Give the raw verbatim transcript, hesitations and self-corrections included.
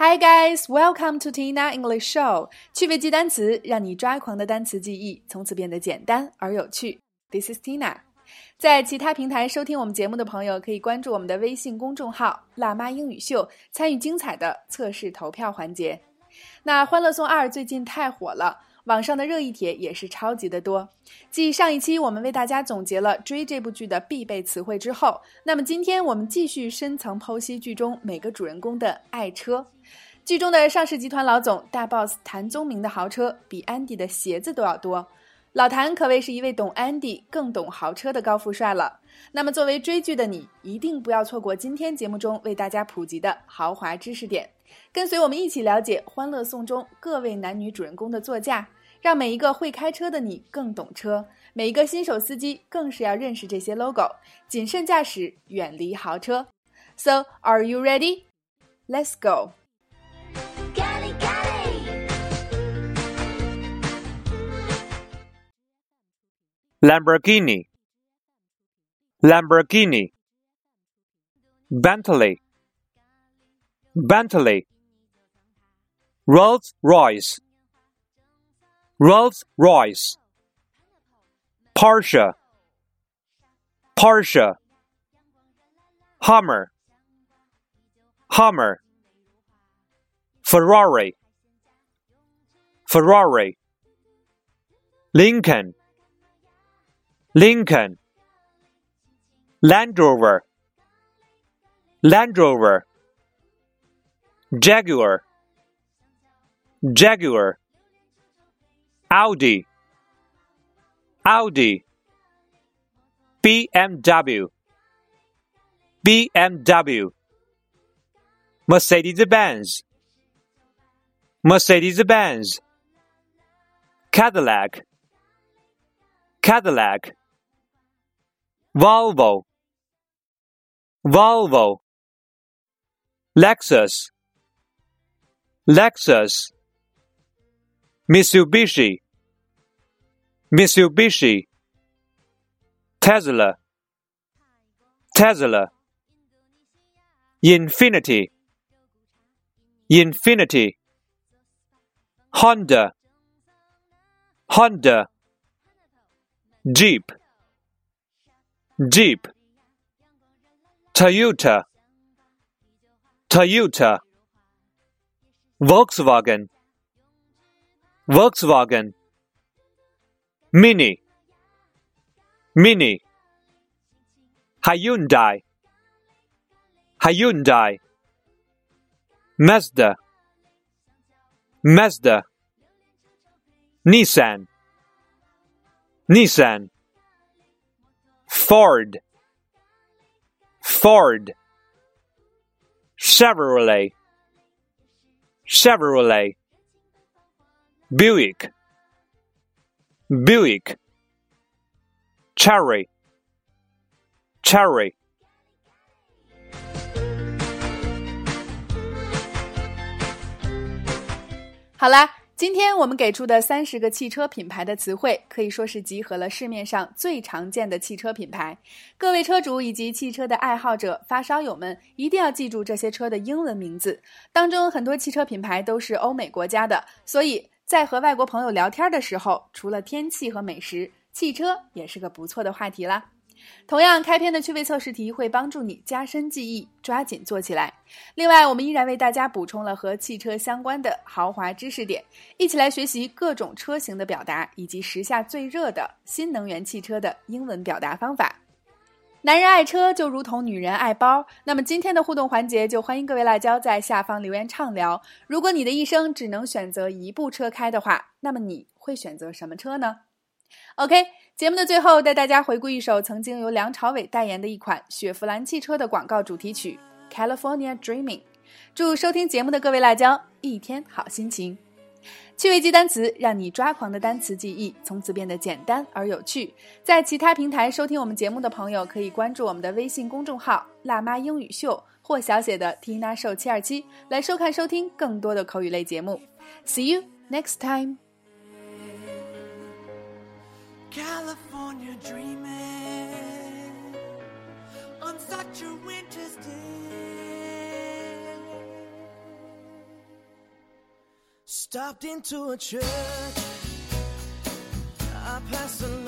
Hi guys, welcome to Tina English Show. 趣味记单词，让你抓狂的单词记忆从此变得简单而有趣。This is Tina. 在其他平台收听我们节目的朋友，可以关注我们的微信公众号“辣妈英语秀”，参与精彩的测试投票环节。那《欢乐颂二》最近太火了。网上的热议帖也是超级的多。继上一期我们为大家总结了追这部剧的必备词汇之后，那么今天我们继续深层剖析剧中每个主人公的爱车。剧中的上市集团老总大 boss 谭宗明的豪车比安迪的鞋子都要多。老谭可谓是一位懂安迪更懂豪车的高富帅了。那么作为追剧的你，一定不要错过今天节目中为大家普及的豪华知识点。跟随我们一起了解《欢乐颂》中各位男女主人公的座驾，让每一个会开车的你更懂车，每一个新手司机更是要认识这些 logo， 谨慎驾驶，远离豪车。 So, are you ready? Let's go! Lamborghini, Lamborghini, Bentley, Bentley, Rolls-Royce, Rolls-Royce, Porsche, Porsche, Hummer, Hummer, Ferrari, Ferrari, Lincoln, Lincoln, Land Rover, Land Rover, Jaguar, Jaguar, Audi, Audi, B M W, B M W, Mercedes-Benz, Mercedes-Benz, Cadillac, Cadillac, Volvo, Volvo, Lexus, Lexus, Mitsubishi, Mitsubishi, Tesla, Tesla, Infiniti, Infiniti, Honda, Honda, Jeep, Jeep, Toyota, Toyota, Volkswagen, Volkswagen, Mini, Mini, Hyundai, Hyundai, Mazda, Mazda, Nissan, Nissan, Ford, Ford, Chevrolet, Chevrolet, Buick, Buick, Cherry, Cherry. 好啦，今天我们给出的三十个汽车品牌的词汇，可以说是集合了市面上最常见的汽车品牌。各位车主以及汽车的爱好者、发烧友们，一定要记住这些车的英文名字。当中很多汽车品牌都是欧美国家的，所以在和外国朋友聊天的时候，除了天气和美食，汽车也是个不错的话题啦。同样，开篇的趣味测试题会帮助你加深记忆，抓紧做起来。另外，我们依然为大家补充了和汽车相关的豪华知识点，一起来学习各种车型的表达，以及时下最热的新能源汽车的英文表达方法。男人爱车就如同女人爱包，那么今天的互动环节就欢迎各位辣椒在下方留言畅聊。如果你的一生只能选择一部车开的话，那么你会选择什么车呢？ OK， 节目的最后带大家回顾一首曾经由梁朝伟代言的一款雪佛兰汽车的广告主题曲 California Dreaming。 祝收听节目的各位辣椒一天好心情。趣味记单词，让你抓狂的单词记忆从此变得简单而有趣。在其他平台收听我们节目的朋友，可以关注我们的微信公众号辣妈英语秀或小写的 Tina Show 七二七来收看收听更多的口语类节目。 See you next time. California dreaming on such a winter's day. Stopped into a church. I passed along